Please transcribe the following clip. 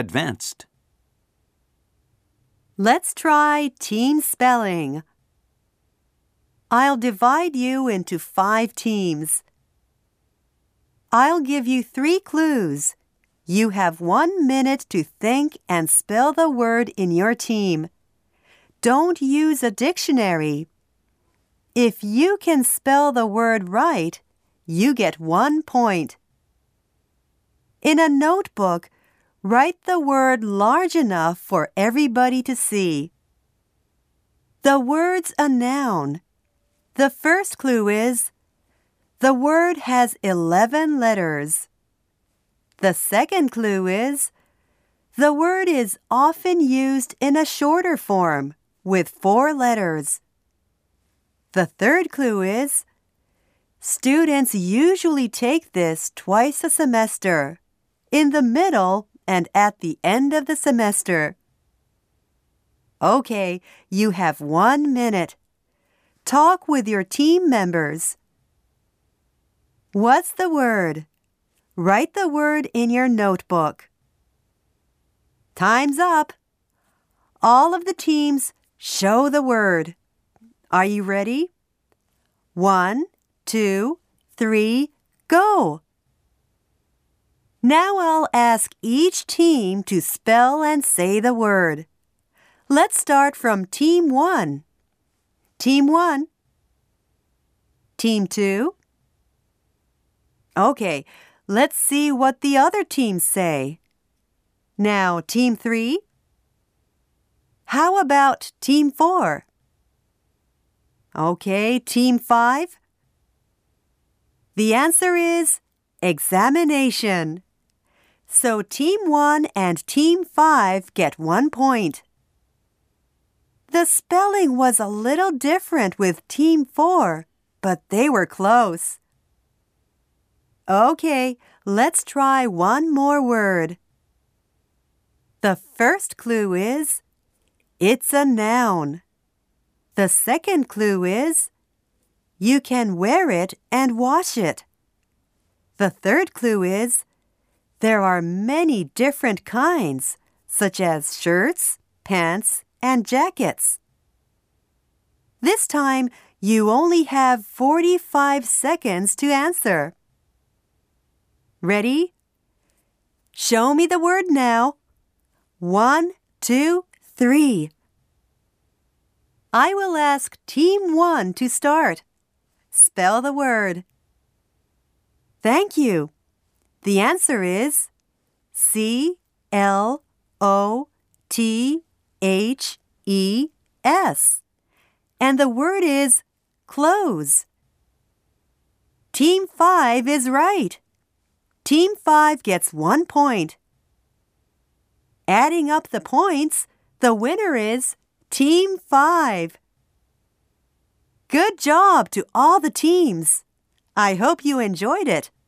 Advanced. Let's try team spelling. I'll divide you into 5 teams. I'll give you 3 clues. You have 1 minute to think and spell the word in your team. Don't use a dictionary. If you can spell the word right, you get 1 point. In a notebook, write the word large enough for everybody to see. The word's a noun. The first clue is, the word has 11 letters. The second clue is, the word is often used in a shorter form with 4 letters. The third clue is, students usually take this twice a semester, in the middle and at the end of the semester. Okay, you have 1 minute. Talk with your team members. What's the word? Write the word in your notebook. Time's up. All of the teams show the word. Are you ready? 1, 2, 3, go! Now I'll ask each team to spell and say the word. Let's start from Team 1. Team 1. Team 2. Okay, let's see what the other teams say. Now, Team 3. How about Team 4? Okay, Team 5. The answer is examination. So Team 1 and Team 5 get 1 point. The spelling was a little different with Team 4, but they were close. Okay, let's try one more word. The first clue is, it's a noun. The second clue is, you can wear it and wash it. The third clue is, there are many different kinds, such as shirts, pants, and jackets. This time, you only have 45 seconds to answer. Ready? Show me the word now. 1, 2, 3. I will ask Team 1 to start. Spell the word. Thank you. The answer is C-L-O-T-H-E-S. And the word is clothes. Team 5 is right. Team 5 gets 1 point. Adding up the points, the winner is Team 5. Good job to all the teams. I hope you enjoyed it.